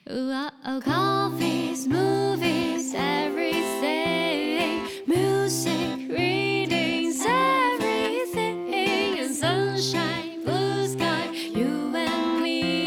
Coffees, movies, everything. Music, readings, everything. And sunshine, blue sky, you and me,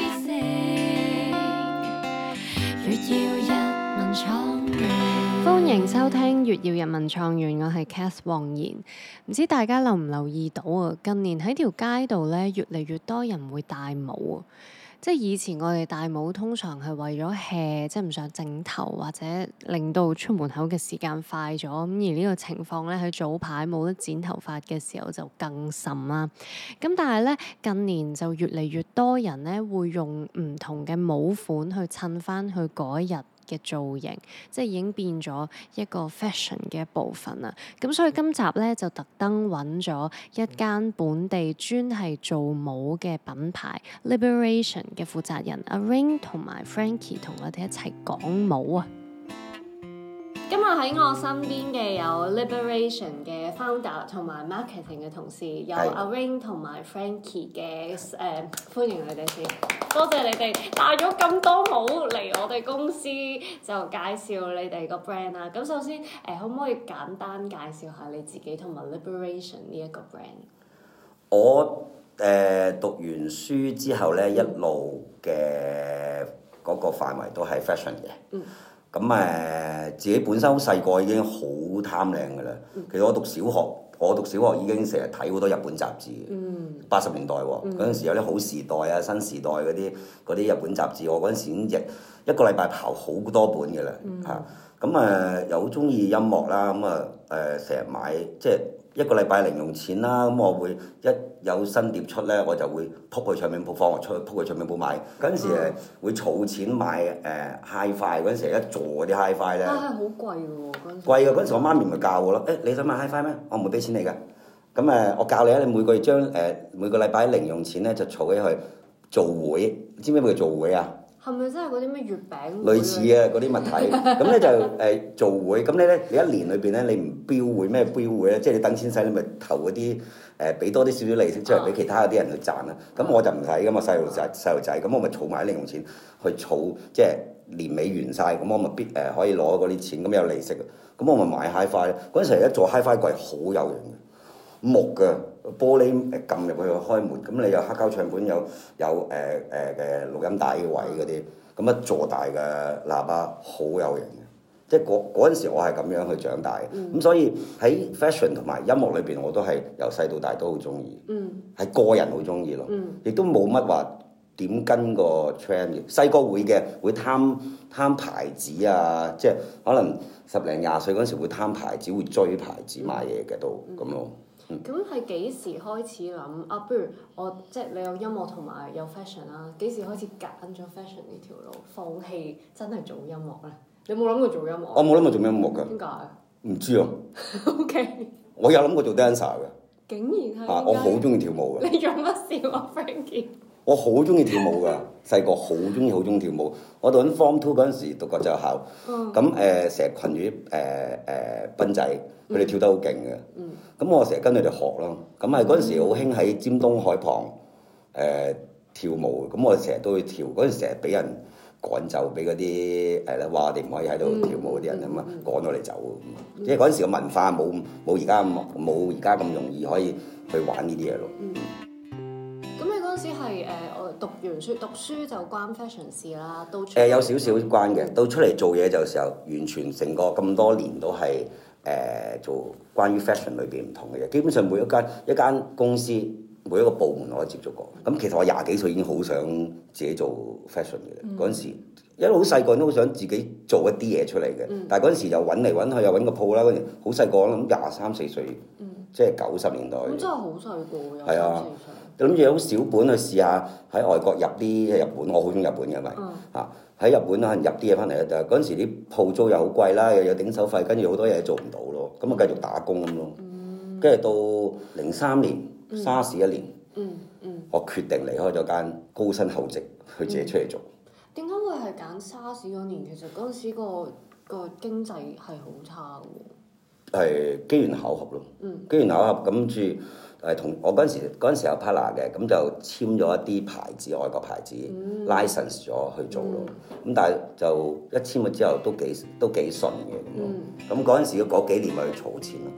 everything. 月耀日文創園，歡迎收聽月耀日文創園，我係 Cath 黃妍。唔知大家留唔留意到啊？近年喺條街度咧，越嚟越多人會戴帽啊！即係以前我哋戴帽通常係為咗 hea， 即係唔想整頭或者令到出門口嘅時間快咗。咁而呢個情況咧，喺早排冇得剪頭髮嘅時候就更甚啦。咁但係咧，近年就越嚟越多人咧會用唔同嘅帽款去襯翻佢嗰一日嘅造型，即係已經變咗一個 fashion 嘅一部分啦。咁所以今集咧就特登揾咗一間本地專係做帽嘅品牌 Liberation 嘅負責人阿 Ring 同埋 Frankie 同我哋一齊講帽啊！今日喺我身邊嘅有 Liberation 嘅 founder 同埋 marketing 嘅同事，有阿 Ring 同埋 Frankie 嘅歡迎你哋先，多謝你哋帶咗咁多帽嚟我哋公司，就介紹你哋個 brand 啦。咁首先可唔可以簡單介紹下你自己同埋 Liberation 呢一個 brand？ 我讀完書之後咧，一路嘅嗰個範圍都係 fashion 嘅。咁自己本身好細個已經好貪靚㗎啦。其實我讀小學已經成日睇好多日本雜誌嘅。80年代喎，嗰陣時有啲好時代啊、新時代嗰啲日本雜誌，我嗰陣時已經一個禮拜刨好多本㗎啦嚇。咁又好中意音樂啦，成日買即係一個禮拜零用錢啦。咁我會一有新碟出咧，我就會撲去唱片鋪，放學出去撲去唱片鋪買。嗰陣時會儲錢買Hi-Fi，嗰陣時一座嗰啲 Hi-Fi 咧，係好貴嘅喎。貴嘅嗰陣時，我媽咪咪教我咯。你想買 Hi-Fi 咩？我唔會俾錢你㗎。咁我教你啊，你每個月將每個禮拜零用錢咧就儲起去做會。知唔知咩叫做會啊？係咪真係嗰啲咩月餅？類似啊，嗰啲物體，咁咧就做會，咁你一年裏邊咧，你唔標會咩標會咧？即係你等錢使，你咪投嗰啲俾多啲少少利息出嚟俾其他嗰啲人去賺啦。咁我就唔使噶嘛，細路仔，咁我咪儲埋啲零用錢去儲，即係年尾完晒，咁我咪可以攞嗰啲錢，咁有利息。咁我咪買 Hi-Fi，嗰陣時一座 Hi-Fi 櫃好有型嘅，木嘅玻璃撳入去開門，咁你有黑膠唱片，有錄音帶嘅位嗰啲，咁一座大嘅喇叭好有型嘅，即係嗰陣時我係咁樣去長大嘅。咁所以喺 fashion 同埋音樂裏邊，我都係由細到大都好中意，係個人好中意咯，亦都冇乜話點跟個 trend 嘅。細個會貪牌子啊，即係可能10零20歲嗰陣時會貪牌子，會追牌子買嘢嘅都咁咯。 咁係幾時開始諗啊？不如我即係你有音樂同埋有 fashion 啦，幾時開始揀咗 fashion 呢條路，放棄真係做音樂咧？你有冇諗過做音樂？ 我冇諗過做音樂㗎。點解？唔知啊。OK。我有諗過做 dancer 㗎。竟然係。我好中意跳舞㗎。你做乜笑啊 Frankie？我好中意跳舞㗎，細個好中意跳舞。我讀緊 Form 2嗰陣時讀國際學校，咁成日群住啲賓仔，佢哋跳得好勁嘅。咁我成日跟佢哋學咯。咁嗰陣時好興喺尖東海旁跳舞，咁我成日都去跳。嗰陣時成日俾人趕走，俾嗰啲話我哋唔可以喺度跳舞嗰啲人咁趕我哋走。即係嗰陣時嘅文化冇而家咁容易可以去玩呢啲嘢咯。 嗰陣時係我讀完書，讀書就關 fashion 事啦，都有少少關嘅。到出嚟做嘢就時候，完全成個咁多年都係做關於 fashion 裏邊唔同嘅嘢。基本上每一間公司每一個部門我都接觸過。咁其實我20幾歲已經好想自己做 fashion 嘅。嗰陣時一路好細個都好想自己做一啲嘢出嚟嘅。但係嗰陣時就揾嚟揾去又揾個鋪啦。嗰陣好細個，我諗23、24歲，即係90年代。咁真係好細個，係啊。諗住好小本去試下喺外國入啲日本，我好中意日本嘅咪嚇喺日本可能入啲嘢翻嚟咧，就嗰陣時啲鋪租又好貴啦，又有頂手費，跟住好多嘢做唔到咯，咁啊繼續打工咁咯。跟住到03年SARS 一年，我決定離開咗間高薪厚職，去自己出嚟做。 點解會係揀SARS嗰年？其實嗰陣時個經濟係好差嘅喎。 係機緣巧合咯。機緣巧合跟住同我嗰陣時有 partner 嘅，咁就簽咗一啲牌子，外國牌子 license 咗去做咯。咁但係就一簽咗之後都幾順嘅咁咯。咁嗰陣時嗰幾年咪去儲錢咯。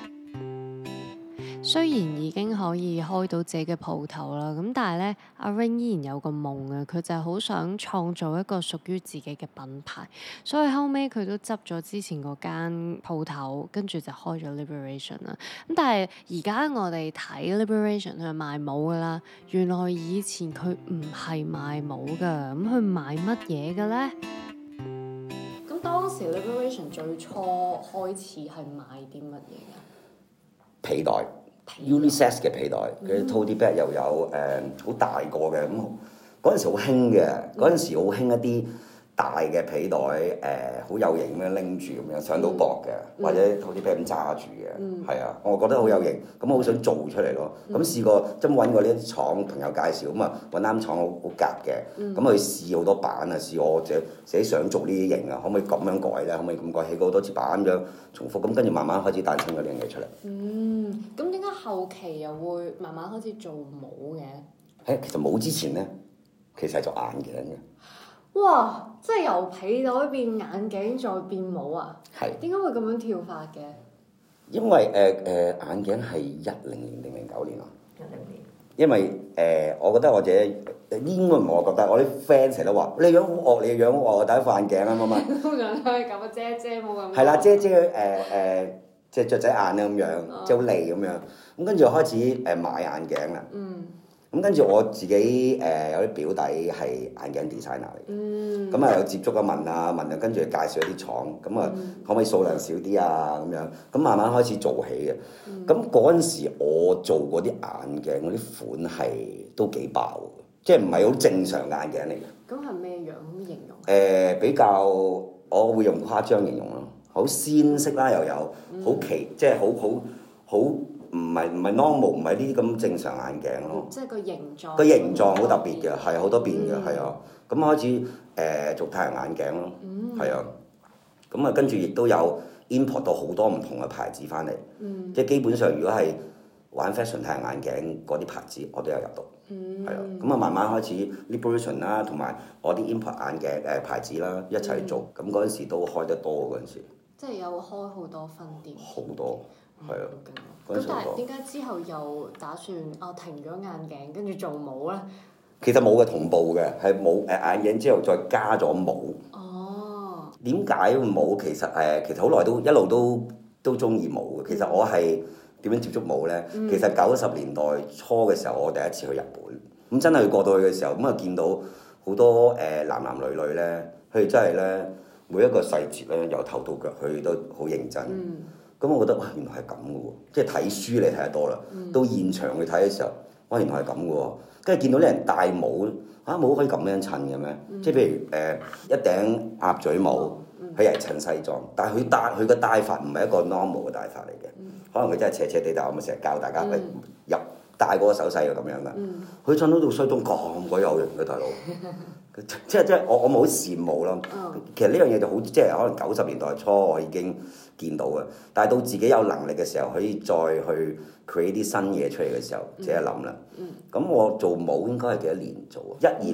雖然已經可以開到自己嘅鋪頭啦，咁但係咧，阿 Ring 依然有個夢啊，佢就係好想創造一個屬於自己嘅品牌，所以後尾佢都執咗之前嗰間鋪頭，跟住就開咗 Liberation 啦。咁但係而家我哋睇 Liberation 佢係賣帽噶啦，原來以前佢唔係賣帽噶，咁佢賣乜嘢嘅咧？咁當時 Liberation 最初開始係賣啲乜嘢嘅？ 皮袋。unisex 嘅皮袋，佢 tote bag 又有好大個嘅，咁嗰陣時好興嘅，嗰陣時好興一啲大嘅皮袋，好有型咁樣拎住咁樣上到膊嘅，或者 tote bag 咁揸住嘅，係啊，我覺得好有型，咁好想做出嚟咯。咁試過真揾過呢啲廠朋友介紹，咁啊揾啱廠好夾嘅，咁去試好多版啊，試我自己想做呢啲型啊，可唔可以咁樣改咧？可唔可以咁改？起過好多次版咁樣重複，咁跟住慢慢開始誕生咗呢樣嘢出嚟。 咁點解後期又會慢慢開始做帽嘅？ 其實冇之前咧，其實係做眼鏡嘅。 哇！即係由皮袋變眼鏡再變帽啊？ 係。點解會咁樣跳法嘅？ 因為眼鏡係10年定09年啊。10年。因為我覺得我自己應該唔係我覺得，我啲 friend 成日都話你樣好惡，你樣好惡，我戴副眼鏡啊嘛。 通常都係咁啊，遮冇咁。 係啦，遮隻雀仔眼啊咁樣，即係好利咁樣。咁跟住開始買眼鏡啦。咁跟住我自己有啲表弟係眼鏡 designer 嚟嘅。咁啊有接觸啊問啊，跟住介紹一啲廠，咁啊可唔可以數量少啲啊咁樣？咁慢慢開始做起嘅。咁嗰陣時我做嗰啲眼鏡嗰啲款係都幾爆嘅，即係唔係好正常嘅眼鏡嚟嘅。咁係咩樣形容？比較我會用誇張形容咯。好鮮色啦，又有好即係好唔係 normal， 唔係呢啲咁正常眼鏡咯。即係個形狀好特別嘅，係好多變嘅，係啊。咁開始做太陽眼鏡咯，係啊。咁啊跟住亦都有 import 到好多唔同嘅牌子翻嚟，即係基本上如果係玩 fashion 太陽眼鏡嗰啲牌子，我都有入到，係啊。咁啊慢慢開始 Liberation 啦，同埋我啲 import 眼鏡牌子啦一齊做，咁嗰陣時都開得多嗰陣時。即係有開好多分店。好多，係啊。咁但係點解之後又打算停咗眼鏡，跟住做帽咧？其實冇嘅，同步嘅，係冇眼鏡之後再加咗帽。哦。點解帽？其實好耐都一路都中意帽嘅。其實我係點樣接觸帽咧？其實90年代初嘅時候，我第一次去日本，咁真係過到去嘅時候，咁啊見到好多男女咧，佢哋真係咧每一個細節咧，由頭到腳佢都好認真。咁我覺得哇，原來係咁嘅喎，即係睇書你睇得多啦，到現場去睇嘅時候，哇，原來係咁嘅喎，跟住見到啲人戴帽，帽可以咁樣襯嘅咩？即係譬如一頂鴨嘴帽，佢係襯西裝，但係佢個戴法唔係一個 normal 嘅戴法嚟嘅，可能佢真係斜斜地，但我咪成日教大家入戴嗰個手勢係咁樣噶，佢襯到套西裝咁鬼有型嘅大佬。即係我冇好羨慕咯。其實呢樣嘢就好，即係可能90年代初我已經見到嘅，但係到自己有能力嘅時候，可以再去 create 啲新嘢出嚟嘅時候，自己諗啦。咁我做帽應該係幾多年做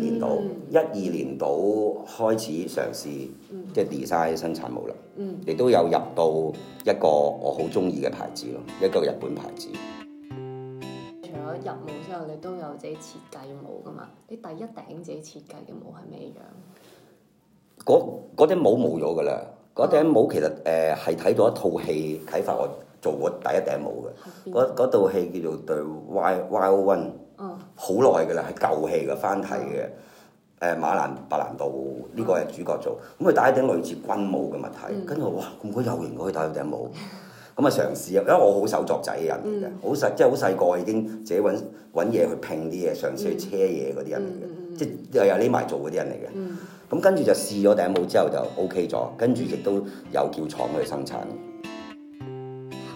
？12年度開始嘗試即係 design 生產帽啦。亦都有入到一個我好中意嘅牌子咯，一個日本牌子。除咗入帽之後，你都有自己設計帽噶嘛？你第一頂自己設計嘅帽係咩樣？嗰頂帽冇咗噶啦，嗰頂帽其實係睇到一套戲啟發我做過第一頂帽嘅。嗰套戲叫做《The Wild One》，好耐噶啦，係舊戲嘅翻睇嘅。白蘭度呢個係主角做，咁佢戴一頂類似軍帽嘅物體，跟住我哇咁鬼有型，可以戴嗰頂帽。咁啊嘗試啊，因為我好手作仔嘅人嚟嘅，即係好細個已經自己揾嘢去拼啲嘢，嘗試去車嘢嗰啲人嚟嘅，即係又匿埋做嗰啲人嚟嘅。咁跟住就試咗頂帽之後就 OK 咗，跟住亦都有叫廠去生產。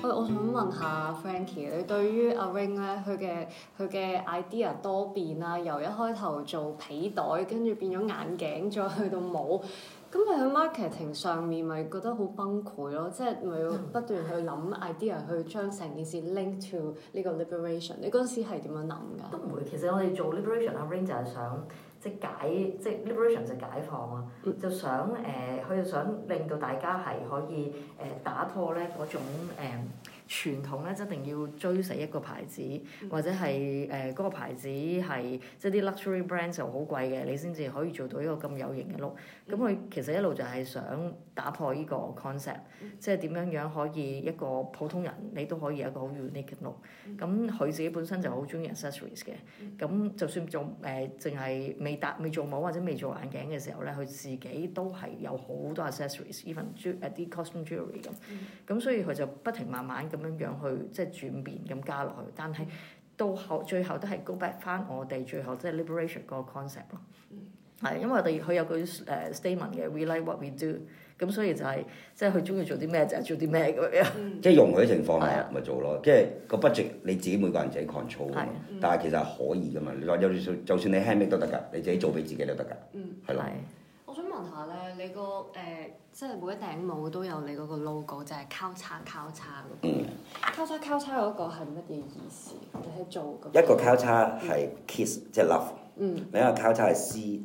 我想問下 Frankie，你對於阿 Ring 咧，佢嘅 idea 多變啦，由一開頭做皮袋，跟住變咗眼鏡，再去到帽，咁你喺 marketing 上面咪覺得好崩潰咯？即係咪要不斷去諗 idea 去將成件事 link to 呢個 liberation？ 你嗰陣時係點樣諗㗎？ 都唔會，其實我哋做 liberation 阿 Ring 就係想即係 liberation 就解放啊，就想佢就想令到大家係可以打破咧嗰種傳統咧，一定要追死一個牌子，或者係嗰個牌子係即係啲 luxury brand 就好貴嘅，你先至可以做到一個咁有型嘅 look。咁佢其實一路就係想打破呢個 concept，即係點樣可以一個普通人你都可以有一個好 unique 嘅 look。咁佢自己本身就好中意 accessories 嘅，咁就算做淨係未做帽或者未做眼鏡嘅時候咧，佢自己都係有好多 accessories，even 啲 costume jewelry 咁。咁所以佢就不停慢慢咁樣去即係轉變咁加落去，但係到最後都係 go back 翻我哋最後即係 liberation 嗰個 concept 咯。係因為佢有句statement 嘅 ，we like what we do， 咁所以就係即係佢中意做啲咩就係做啲咩咁樣。 即係容許情況咪做咯，即係個 budget 你自己每個人自己 control 啊嘛。但係其實係可以噶嘛，你話就算你 handmade 都得㗎，你自己做俾自己都得㗎。係咯。 我想問下咧，你個即係每一頂帽都有你嗰個 logo，就係交叉嗰個。交叉嗰個係乜嘢意思？你係做一個交叉係 kiss 即係 love，另一個交叉係 C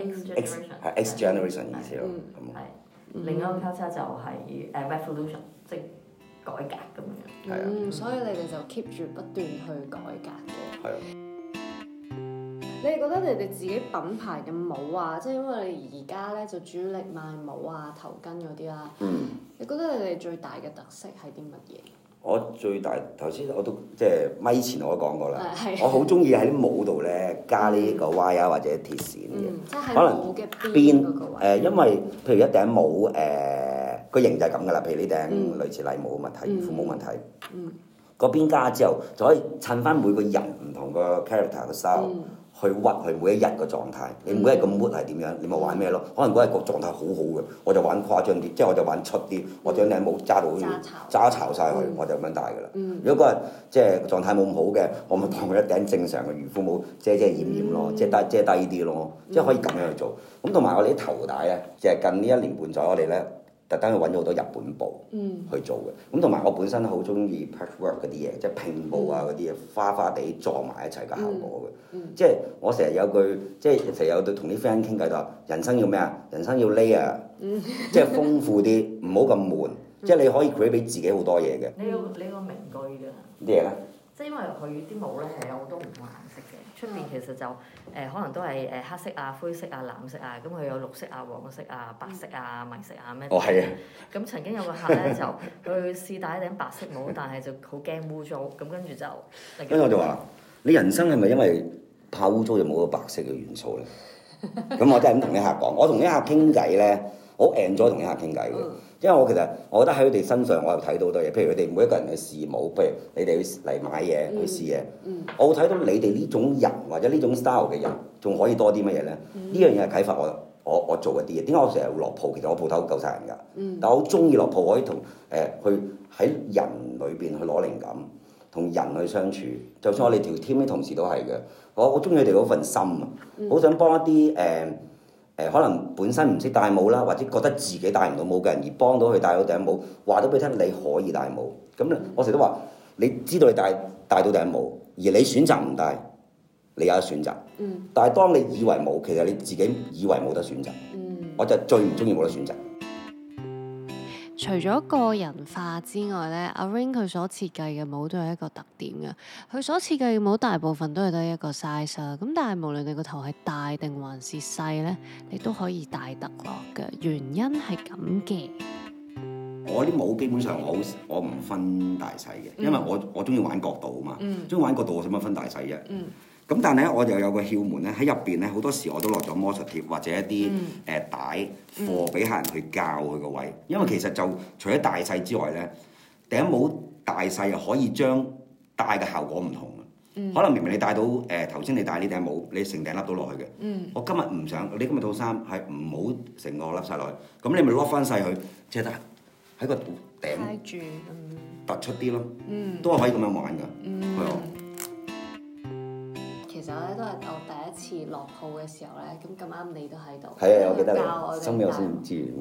X generation 意思咯。 另一個交叉就係revolution， 即係改革咁樣。 係啊。 所以你哋就 keep 住不斷去改革嘅。 係啊。 你哋覺得你哋自己品牌嘅帽啊，即係因為你而家咧就主力賣帽啊、頭巾嗰啲啦。你覺得你哋最大嘅特色係啲乜嘢？ 我最大頭先我都即係咪前我都講過啦，我好中意喺啲帽度咧加呢個 wire 或者鐵線嘅，可能邊因為譬如一頂帽個型就係咁噶啦，譬如呢頂類似禮帽冇問題，漁夫冇問題。嗰邊加之後就可以襯翻每個人唔同個 character 個 style。去屈佢每一日個狀態，你每一日個 mood 係點樣，你咪玩咩咯？可能嗰日個狀態好好嘅，我就玩誇張啲，即係我就玩出啲，我將頂帽揸到好似揸巢晒佢，我就咁樣戴㗎啦。如果嗰日即係狀態冇咁好嘅，我咪當佢一頂正常嘅漁夫帽遮掩咯，即係遮低啲咯，即係可以咁樣去做。咁同埋我哋啲頭帶咧，就係近呢1年半載，我哋咧特登去揾咗好多日本布去做嘅。咁同埋我本身好中意 patchwork 嗰啲嘢，即係拼布啊嗰啲嘢，花花地撞埋一齊嘅效果嘅。即係我成日有句，即係成日有對同啲 friend 傾偈就話：人生要咩啊？人生要 layer，即係豐富啲，唔好咁悶。即係你可以 create 俾自己好多嘢嘅。 你個名句㗎。 啲嘢咧？ 即係因為佢啲帽咧係有好多唔同顏色嘅，出邊其實就可能都係黑色啊、灰色啊、藍色啊，咁佢有綠色啊、黃色啊、白色啊、米色啊咩？ 哦，係啊！ 咁曾經有個客咧就去試戴一頂白色帽，但係就好驚污糟，咁跟住就跟住我就話：你人生係咪因為怕污糟就冇個白色嘅元素咧？咁我真係咁同啲客講，我同啲客傾偈咧，我好 enjoy 同啲客傾偈嘅。因為我其實我覺得喺佢哋身上，我又睇到好多嘢。譬如佢哋每一個人去試帽，譬如你哋去嚟買嘢去試嘢，我會睇到你哋呢種人或者呢種 style 嘅人，仲可以多啲乜嘢咧？呢樣嘢係啟發我做一啲嘢。點解我成日會落鋪？其實我鋪頭夠晒人㗎，但我好中意落鋪，可以同去喺人裏邊去攞靈感，同人去相處。就算我哋條 team 啲同事都係嘅，我好中意佢哋嗰份心啊，好想幫一啲可能本身唔識戴帽啦，或者覺得自己戴唔到帽嘅人，而幫到佢戴到頂帽，話到俾你聽，你可以戴帽。咁咧，我成日都話，你知道你戴到頂帽，而你選擇唔戴，你有得選擇。但係當你以為冇，其實你自己以為冇得選擇。我就最唔中意冇得選擇。 除咗個人化之外咧，阿 Ring 佢所設計嘅帽都有一個特點嘅，佢所設計嘅帽大部分都係得一個 size 啦。咁但係無論你個頭係大定還是細咧，你都可以戴得落嘅。原因係咁嘅。 我啲帽基本上我唔分大細嘅，因為我中意玩角度啊嘛，中意玩角度我使乜分大細啫？咁但係咧，我又有個竅門咧，喺入邊咧好多時我都落咗魔術貼或者一啲帶貨俾客人去教佢個位，因為其實就除咗大細之外咧，頂帽大細又可以將戴嘅效果唔同嘅。可能明明你戴到頭先你戴呢頂帽，你成頂笠到落去嘅。我今日唔想，你今日套衫係唔好成個笠晒落去，咁你咪 lock 翻細佢，即係得。 喺個頂挨住， 突出啲咯，都係可以咁樣玩㗎，係啊。 其實咧都係我第一次落鋪嘅時候咧，咁啱你都喺度。 係啊，我記得教我你，收尾我先唔知。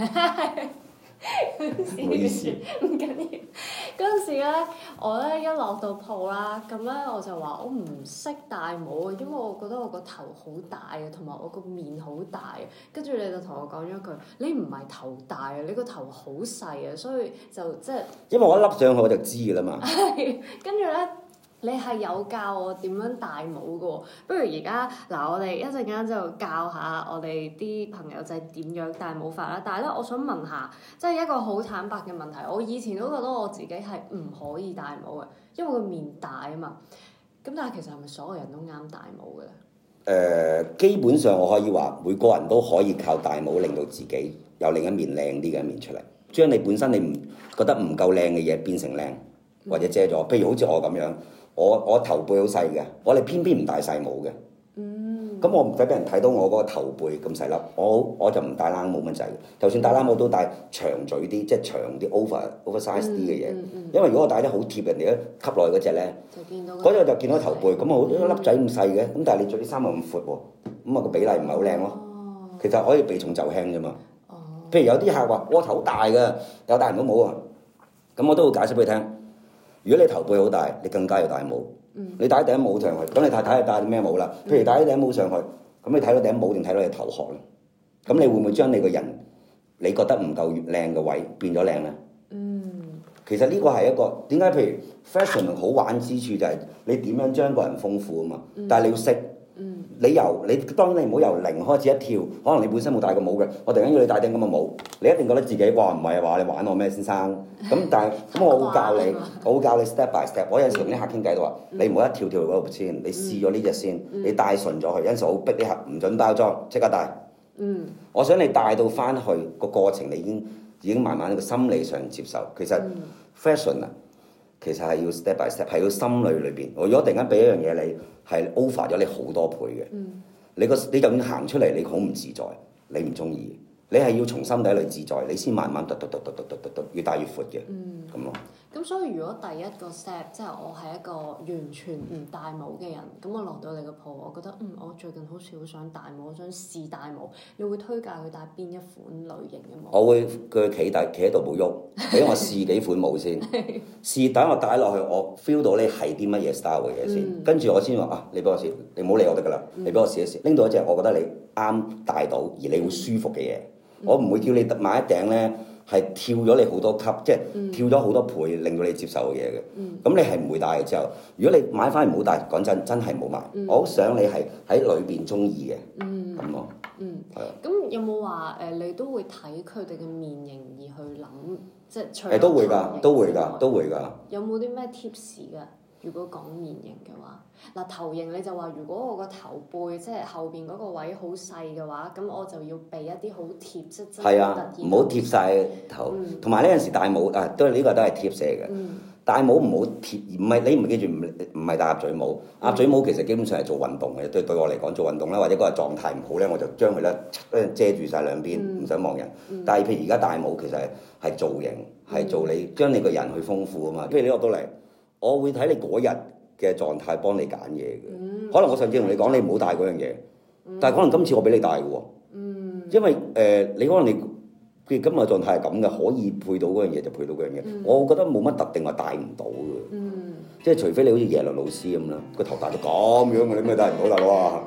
唔好意思， 唔緊要。嗰陣時咧，我咧一落到鋪啦，咁咧我就話我唔識戴帽啊，因為我覺得我個頭好大啊，同埋我個面好大啊。跟住你就同我講咗一句：你唔係頭大啊，你個頭好細啊，所以就即係。 因為我一笠上去我就知㗎啦嘛。 係，跟住咧。你係有教我點樣戴帽嘅喎，不如而家嗱，我哋一陣間就教下我哋啲朋友仔點樣戴帽法啦。但係咧，我想問下，即係一個好坦白嘅問題，我以前都覺得我自己係唔可以戴帽嘅，因為個面大啊嘛。咁但係其實係咪所有人都啱戴帽嘅咧？ 基本上我可以話，每個人都可以靠戴帽令到自己有另一面靚啲嘅一面出嚟，將你本身你唔覺得唔夠靚嘅嘢變成靚，或者遮咗。譬如好似我咁樣。我頭背好細嘅，我哋偏偏唔戴細帽嘅。咁我唔使俾人睇到我嗰個頭背咁細粒，我就唔戴冷帽咁滯嘅。就算戴冷帽都戴長嘴啲，即係長啲 oversize 啲嘅嘢。因為如果我戴得好貼人哋咧吸落去嗰隻咧，嗰隻就見到頭背，咁我一粒仔咁細嘅，咁但係你着啲衫又咁闊喎，咁啊個比例唔係好靚咯。其實可以避重就輕啫嘛。譬如有啲客話我頭大嘅，又戴唔到帽啊，咁我都會解釋俾佢聽。如果你頭背好大，你更加要戴帽。你戴頂帽上去，咁你睇下戴咩帽啦？譬如戴頂帽上去，咁你睇到頂帽定睇到你頭殼咧？咁你會唔會將你個人你覺得唔夠靚嘅位變咗靚咧？其實呢個係一個點解？譬如 fashion 好玩之處就係你點樣將個人豐富啊嘛。但係你要識。你當然你唔好由零開始一跳，可能你本身冇戴過帽嘅，我突然間要你戴頂咁嘅帽，你一定覺得自己哇唔係話你玩我咩先生？咁但係咁我會教你，我會教你 step by step。我有陣時同啲客傾偈都話，你唔好一跳跳嗰度先，你試咗呢隻先，你戴順咗佢。有陣時好逼啲客唔準包裝，即刻戴。我想你帶到翻去個過程，你已經慢慢個心理上接受。其實 fashion 啊，其實係要 step by step，係要心裏邊。我如果突然間俾一樣嘢你，係 over 咗你好多倍嘅。你就算行出嚟，你好唔自在，你唔中意。你係要從心底裏自在，你先慢慢越大越闊嘅。咁咯。 咁所以如果第一個 step 即係我係一個完全唔戴帽嘅人，咁我落到你個鋪，我覺得我最近好似好想戴帽，我想試戴帽，你會推介佢戴邊一款類型嘅帽？ 我會叫佢企喺度冇喐，俾我試幾款帽先，試等我戴落去，我 feel 到你係啲乜嘢 style 嘅嘢先，跟住我先話你俾我試，你唔好理我得㗎啦，你俾我試一試，拎到一隻我覺得你啱戴到而你會舒服嘅嘢，我唔會叫你買一頂咧。係跳咗你好多級，即係跳咗好多倍，令到你接受嘅嘢嘅。咁你係唔會戴嘅之後，如果你買翻嚟唔好戴，講真係冇買。我好想你係喺裏邊中意嘅，咁咯。係啊。 咁有冇話你都會睇佢哋嘅面型而去諗，即係除咗都會㗎，都會㗎。 有冇啲咩 tips 㗎？如果講面型嘅話，嗱頭型你就話，如果我個頭背即係後邊嗰個位好細嘅話，咁我就要備一啲好貼，即係真係突然唔好貼晒頭。同埋呢陣時戴帽都係呢個都係貼射嘅。戴帽唔好貼，唔係你唔記住唔係戴鴨嘴帽。鴨嘴帽其實基本上係做運動嘅，對我嚟講做運動啦，或者嗰日狀態唔好咧，我就將佢咧遮住晒兩邊，唔想望人。但係譬如而家戴帽其實係造型，係做你將你個人去豐富啊嘛。譬如你落到嚟。我會睇你嗰日嘅狀態，幫你揀嘢嘅。可能我上次同你講你唔好帶嗰樣嘢，但係可能今次我俾你帶嘅喎。因為你可能你今日狀態係咁嘅，可以配到嗰樣嘢就配到嗰樣嘢。我覺得冇乜特定話帶唔到嘅。即係除非你好似耶倫老師咁啦，個頭大到咁樣嘅，你咪帶唔到大佬啊！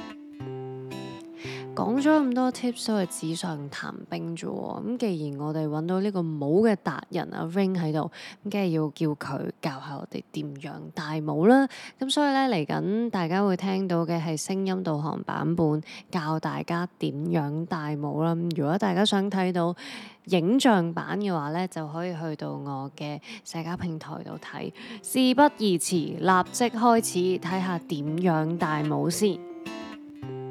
講咗咁多 tips 都係紙上談兵啫喎，咁既然我哋揾到呢個帽嘅達人阿 Ring 喺度，咁梗係要叫佢教下我哋點樣戴帽啦。咁所以咧嚟緊大家會聽到嘅係聲音導航版本，教大家點樣戴帽啦。如果大家想睇到影像版嘅話咧，就可以去到我嘅社交平台度睇。事不宜遲，立即開始睇下點樣戴帽先。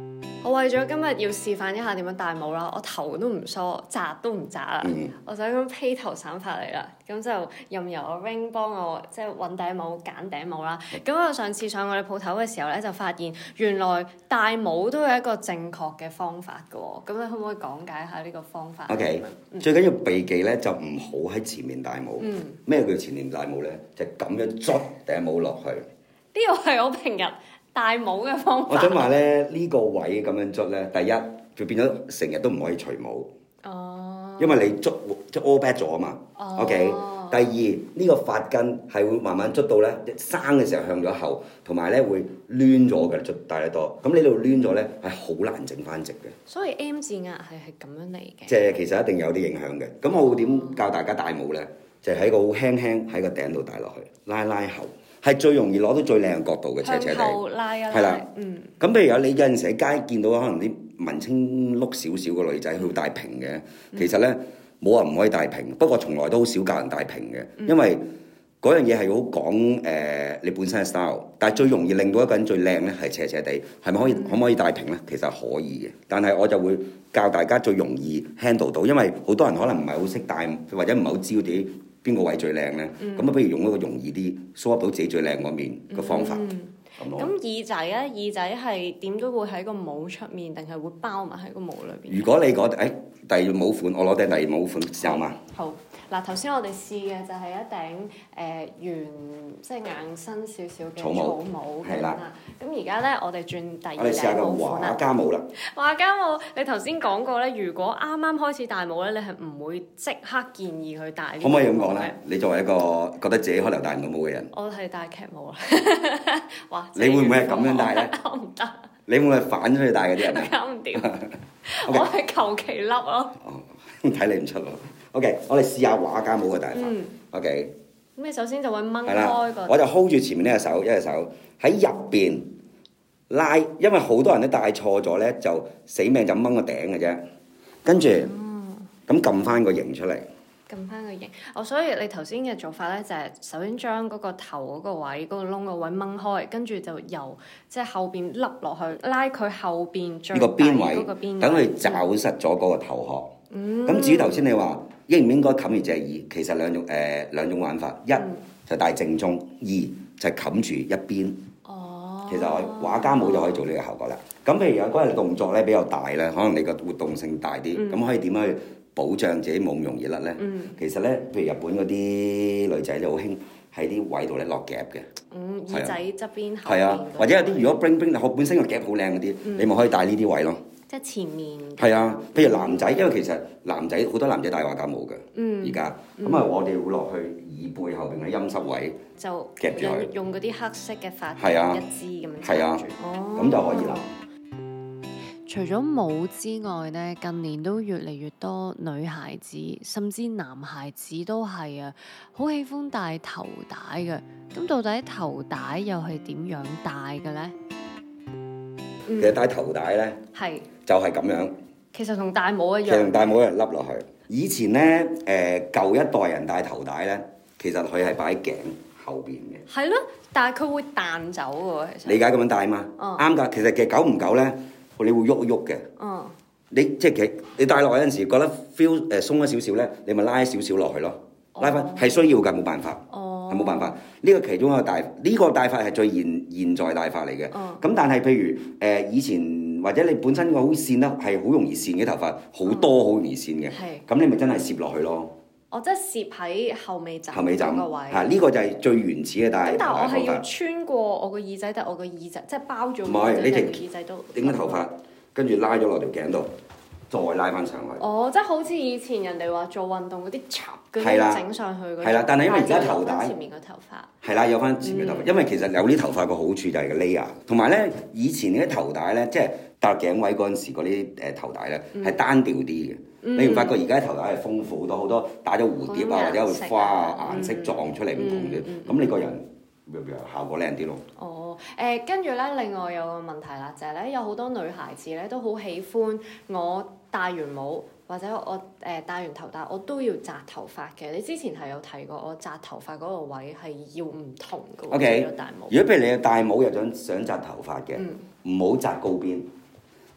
我為咗今日要示範一下點樣戴帽啦，我頭都唔梳，紮都唔紮啦，我就咁披頭散髮嚟啦。咁就任由阿 Ring 幫我即係揾頂帽、揀頂帽啦。咁我上次上我哋鋪頭嘅時候咧，就發現原來戴帽都有一個正確嘅方法嘅喎。咁你可唔可以講解下呢個方法 ？OK，最緊要避忌咧就唔好喺前面戴帽。咩叫前面戴帽咧？就咁樣捽頂帽落去。 呢個係我平日戴帽嘅方法。 我想話咧，呢個位咁樣捽咧，第一就變咗成日都唔可以除帽。哦。因為你捽即 all back 咗啊嘛。OK。第二呢個髮根係會慢慢捽到咧，生嘅時候向咗後，同埋咧會攣咗嘅，捽戴得多。咁呢度攣咗咧係好難整翻直嘅。 所以 M 字壓係咁樣嚟嘅。 即係其實一定有啲影響嘅。咁我會點教大家戴帽咧？就喺個好輕輕喺個頂度戴落去，拉後。係最容易攞到最靚嘅角度嘅，斜斜地。向後拉一拉。係啦，咁譬如你有陣時喺街見到可能啲文青碌少少嘅女仔，佢會戴平嘅。其實咧冇話唔可以戴平，不過從來都好少教人戴平嘅，因為嗰樣嘢係好講你本身嘅 style。但係最容易令到一個人最靚咧係斜斜地，係咪可以可唔可以戴平咧？其實可以嘅，但係我就會教大家最容易 handle 到，因為好多人可能唔係好識戴，或者唔係好知道邊個位最靚咧？咁不如用一個容易啲 show up 到自己最靚嗰面嘅方法。 咁耳仔咧，耳仔係點都會喺個帽出面，定係會包埋喺個帽裏邊？ 如果你覺得第二帽款，我攞頂第二帽款試下嘛。 好。嗱，頭先我哋試嘅就係一頂圓，即係硬身少少嘅草帽，係啦。咁而家咧，我哋轉第二頂帽款啦。我哋試下個畫家帽啦。畫家帽，你頭先講過咧，如果啱啱開始戴帽咧，你係唔會即刻建議佢戴。可唔可以咁講咧？你作為一個覺得自己可能戴唔到帽嘅人，我係戴劇帽啦。哇！你會唔會係咁樣戴咧？我唔得。你會唔會係反出去戴嗰啲人啊？搞唔掂。我係求其笠咯。睇你唔出咯。OK， 我哋試下畫家帽嘅戴法。OK。咁你首先就會掹開個。我就 hold 住前面呢隻手，一隻手喺入邊拉，因為好多人都戴錯咗咧，就死命就掹個頂嘅啫。跟住咁撳翻個型出嚟。撳翻個型。所以你頭先嘅做法咧，就係首先將嗰個頭嗰個位、嗰個窿個位掹開，跟住就由即係後邊笠落去，拉佢後邊最底嗰個邊位，等佢抓實咗嗰個頭殼。咁至於頭先你話應唔應該冚住隻耳，其實兩種玩法，一就戴正中，二就冚住一邊。其實畫家帽就可以做呢個效果啦。咁譬如有嗰日動作咧比較大咧，可能你個活動性大啲，咁可以點樣去保障自己冇咁容易甩咧？其實咧，譬如日本嗰啲女仔就好興喺啲位度咧落夾嘅。耳仔側邊後邊。係啊，或者有啲如果 bling 我本身個夾好靚嗰啲，你咪可以戴呢啲位咯。即係前面。係啊，譬如男仔，因為其實男仔好多男仔戴畫家帽嘅，而家咁啊，我哋會落去耳背後邊嘅陰濕位，就夾住佢，用嗰啲黑色嘅髮夾一支咁樣夾住，咁就可以啦。除咗帽之外呢，近年都越嚟越多女孩子，甚至男孩子都係啊，好喜歡戴頭帶嘅。咁到底頭帶又係點樣戴嘅呢？其實戴頭帶呢，就係咁樣。其實同戴帽一樣。其實同戴帽一樣笠落去。以前呢，舊一代人戴頭帶呢，其實佢係擺喺頸後邊嘅。係咯，但係佢會彈走嘅喎，其實。理解咁樣戴嘛？啱㗎。其實久唔久呢，你會喐一喐嘅。你即係你戴落嗰陣時，覺得 feel 鬆咗少少咧，你咪拉少少落去咯。拉翻係需要㗎，冇辦法。係冇辦法。呢個其中一個戴，呢個戴法係最現在戴法嚟嘅。咁但係譬如以前或者你本身個好跣啦，係好容易跣嘅頭髮，好多好容易跣嘅。咁你咪真係攝落去咯。即係攝喺後尾枕嗰個位。呢個就係最原始嘅戴。咁但係我係要穿過我個耳仔，但係我個耳仔即係包咗。唔係，你條耳仔都頂咗頭髮，跟住拉咗落條頸度，再拉翻上去。即係好似以前人哋話做運動嗰啲插嗰啲整上去嗰啲。係啦，但係因為而家頭帶前面個頭髮。係啦，有翻前面頭髮，因為其實有啲頭髮個好處就係個 layer，同埋咧以前啲頭帶咧，即係搭頸位嗰陣時嗰啲頭帶咧係單調啲嘅。你唔發覺而家頭帶係豐富好多打咗蝴蝶啊，或者會花啊顏色撞出嚟唔同嘅，咁你個人效果靚啲咯。跟住咧，另外有個問題啦，就係咧有好多女孩子咧都好喜歡我戴完帽或者我戴完頭帶，我都要紮頭髮嘅。你之前係有提過，我紮頭髮嗰個位係要唔同嘅喎。如果戴帽，如果譬如你戴帽又想紮頭髮嘅，唔好紮高邊。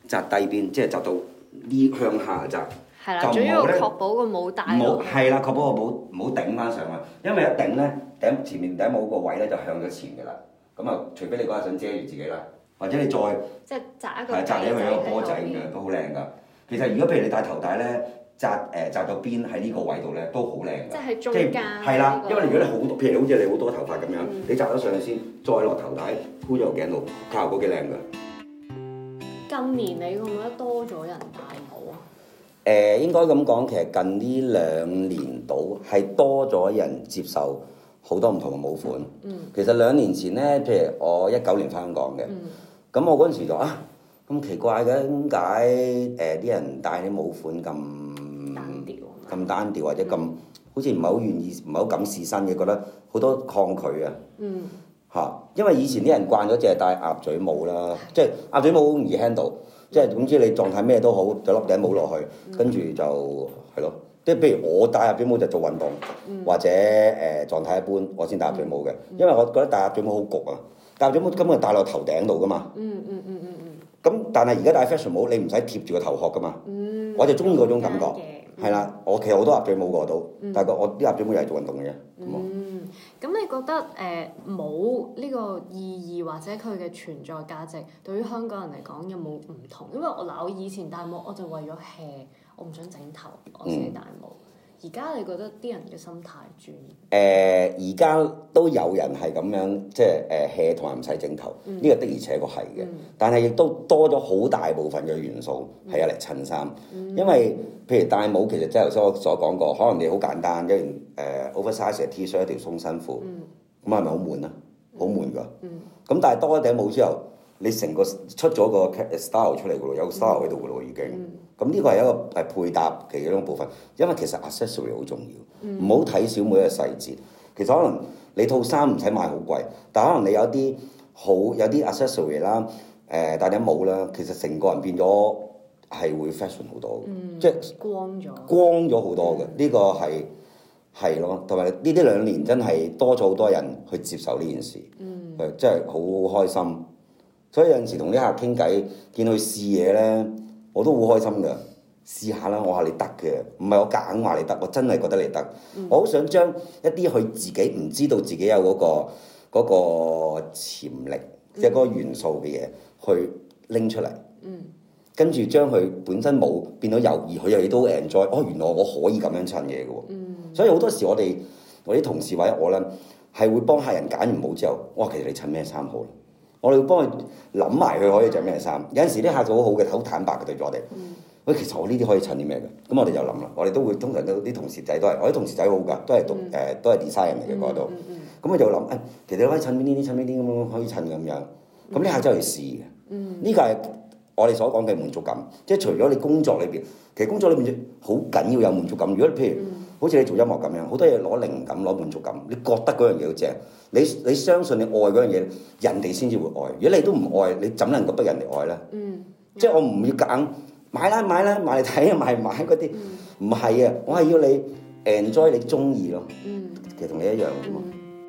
紮低邊，即係紮到呢向下紮。 係啦，主要確保個帽戴落。 係啦，確保個帽唔好頂翻上去，因為一頂咧頂前面頂帽個位咧就向咗前嘅啦。咁啊，除非你嗰日想遮住自己啦，或者你再即係紮一個係紮你一個波仔咁樣都好靚㗎。其實如果譬如你戴頭帶咧，紮到邊喺呢個位度咧都好靚㗎。 即係喺中間。 係啦，因為如果你好多，譬如好似你好多頭髮咁樣，你紮咗上去先，再落頭帶箍咗個頸度，效果幾靚㗎。 近年你覺唔覺得多咗人戴帽啊？ 應該咁講，其實近呢2年度係多咗人接受好多唔同嘅帽款。其實2年前咧，譬如我19年翻香港嘅，咁我嗰陣時就咁奇怪嘅，點解啲人戴啲帽款咁單調或者咁好似唔係好願意，唔係好敢試新嘅，覺得好多抗拒啊。因為以前啲人慣咗淨係戴鴨嘴帽啦，即係鴨嘴帽好容易 handle。即係總之你狀態咩都好，就笠頂帽落去，跟住就係咯。即係譬如我戴鴨嘴帽就做運動，或者狀態一般，我先戴鴨嘴帽嘅。因為我覺得戴鴨嘴帽好焗啊，戴鴨嘴帽根本戴落頭頂度噶嘛。咁但係而家戴 fashion 帽，你唔使貼住個頭殼噶嘛。我就中意嗰種感覺。係啦，我其實好多鴨嘴帽過到，但係我啲鴨嘴帽又係做運動嘅啫。 咁你覺得帽呢個意義或者佢嘅存在價值，對於香港人嚟講有冇唔同？因為我以前戴帽我就為咗 hea，我唔想整頭，我先戴帽。而家你覺得啲人嘅心態轉？ 而家都有人係咁樣，即係hea 同埋唔使整頭，呢個的而且確係嘅。但係亦都多咗好大部分嘅元素係有嚟襯衫，因為譬如戴帽其實即係頭先我所講過，可能你好簡單一件oversize 嘅 T-shirt 一條鬆身褲，咁係咪好悶啊？好悶㗎。咁但係多一頂帽之後，你成個出咗個 style 出嚟㗎咯，有個 style 喺度㗎咯已經。咁呢個係一個配搭其中一部分，因為其實 accessory 好重要，唔好睇小每一個細節。其實可能你套衫唔使買好貴，但可能你有啲 accessory 啦，戴頂帽啦，其實成個人變咗係會 fashion 好多嘅，即係光咗好多嘅。呢個係咯，同埋呢啲2年真係多咗好多人去接受呢件事，真係好開心。所以有陣時同啲客傾偈，見佢試嘢咧，我都好開心㗎。試下啦，我話你得嘅，唔係我夾硬話你得，我真係覺得你得。我好想將一啲佢自己唔知道自己有嗰個潛力，即係嗰個元素嘅嘢，去拎出嚟。跟住將佢本身冇變到有，而佢又都 enjoy。原來我可以咁樣襯嘢嘅喎。所以好多時我啲同事或者我咧，係會幫客人揀完帽之後，其實你襯咩衫好？我哋會幫佢諗埋佢可以着咩衫。有陣時啲客就好好嘅，好坦白嘅對住我哋。喂，其實我呢啲可以襯啲咩嘅？咁我哋就諗啦。我哋都會通常都啲同事仔都係，我啲同事仔好㗎，都係讀都係 design 人嚟嘅嗰度。咁我就諗其實你可以襯邊啲襯邊啲咁樣可以襯咁樣。咁呢客真係去試嘅。呢個係我哋所講嘅滿足感。即係除咗你工作裏邊，其實工作裏邊好緊要有滿足感。如果譬如好似你做音樂咁樣，好多嘢攞靈感攞滿足感，你覺得嗰樣嘢好正，你相信你愛嗰樣嘢，人哋先至會愛。如果你都唔愛，你怎能夠逼人哋愛咧？即係我唔要夾硬買啦，買嚟睇啊，買嗰啲，唔係啊，我係要你 enjoy 你中意咯。其實同你一樣啫嘛。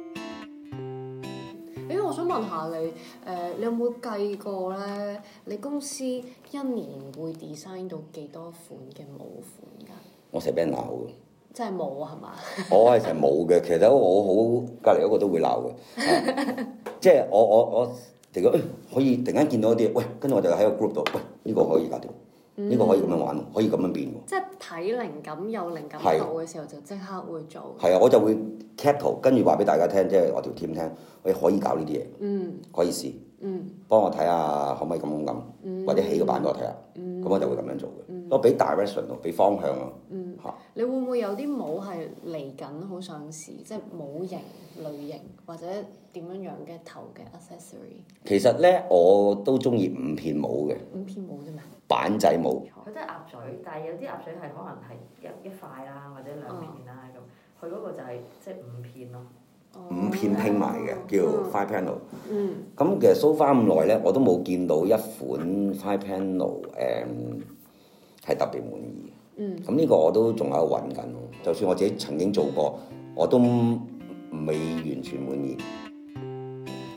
我想問下你，你有冇計過咧？你公司一年會 design 到幾多款嘅帽款㗎？我成日俾人鬧嘅。真係冇係嘛？ 我係成日冇嘅，其實我好隔離嗰個都會鬧嘅。即係我突然間可以突然間見到一啲，跟住我就喺個 group 度，呢個可以搞掂。呢個可以咁樣玩，可以咁樣變喎。 即係睇靈感有靈感到嘅時候，就即刻會做。 係啊，我就會 cap 圖，跟住話俾大家聽，即係我條 team 聽，我可以搞呢啲嘢，可以試，幫我睇下可唔可以咁，或者起個版俾我睇下，咁我就會咁樣做嘅。我俾 direction 咯，俾方向咯。 你會唔會有啲帽係嚟緊好想試，即係帽型、類型或者點樣樣嘅頭嘅 accessory？其實咧，我都中意5片帽嘅。5片帽啫嘛。板仔帽。 佢都係鴨嘴，但係有啲鴨嘴係可能係一塊啦，或者2片啦咁。佢嗰個就係即係5片咯。 5片拼埋嘅，叫 five panel。咁其實 so far 咁耐咧，我都冇見到一款 five panel 係特別滿意。咁呢個我都仲喺度揾緊，就算我自己曾經做過，我都未完全滿意。 你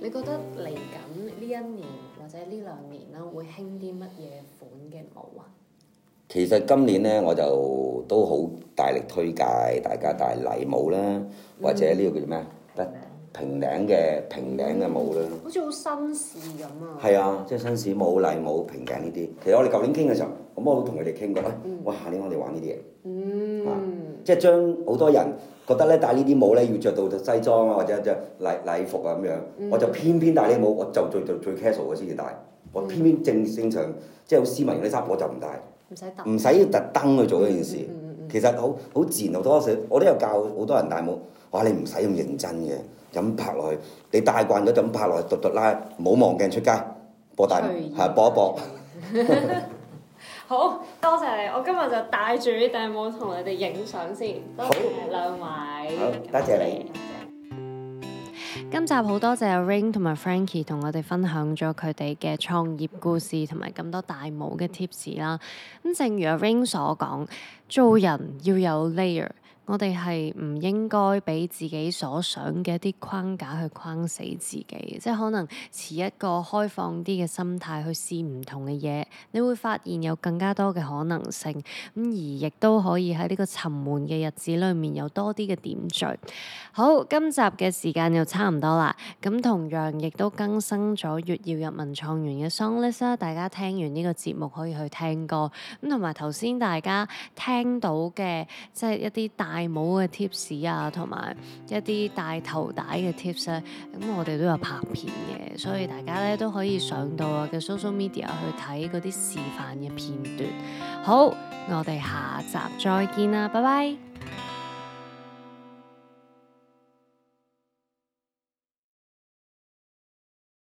你覺得嚟緊呢一年或者呢2年啦，會興啲乜嘢款嘅帽啊？ 其實今年咧，我就都好大力推介大家戴禮帽啦，或者呢個叫做咩？平領嘅帽啦。 好似好紳士咁啊！ 係啊，即係紳士帽、禮帽、平頸呢啲。其實我哋舊年傾嘅時候，咁我都同佢哋傾過，哇！下年我哋玩呢啲嘢。即係將好多人覺得咧戴呢啲帽咧要着到西裝啊，或者着禮服啊咁樣，我就偏偏戴呢啲帽，我就最 casual 嘅先至戴。我偏偏正常即係好斯文嘅啲衫，我就唔戴。唔使要特登去做呢件事。其實好自然，好多時我都有教好多人戴帽。哇！你唔使咁認真嘅，咁拍落去，你戴慣咗就咁拍落去，嘟拉，唔好望鏡出街，播一播。 好多謝你，我今日就戴住呢頂帽同你哋影相先。多謝兩位。 好，多謝你。 今集好多謝阿 Ring 同埋 Frankie 同我哋分享咗佢哋嘅創業故事同埋咁多戴帽嘅 tips 啦。咁正如阿 Ring 所講，做人要有 layer。我哋係唔應該俾自己所想嘅一啲框架去框死自己，即係可能持一個開放啲嘅心態去試唔同嘅嘢，你會發現有更加多嘅可能性，咁而亦都可以喺呢個沉悶嘅日子裏面有多啲嘅點綴。好，今集嘅時間又差唔多啦，咁同樣亦都更新咗粵耀入文創園嘅 song list 啦，大家聽完呢個節目可以去聽歌，咁同埋頭先大家聽到嘅即係一啲戴帽嘅 tips 啊，同埋一啲戴頭帶嘅 tips 咧，咁我哋都有拍片嘅，所以大家咧都可以上到我嘅 social media 去睇嗰啲示範嘅片段。好，我哋下集再見啦，拜拜。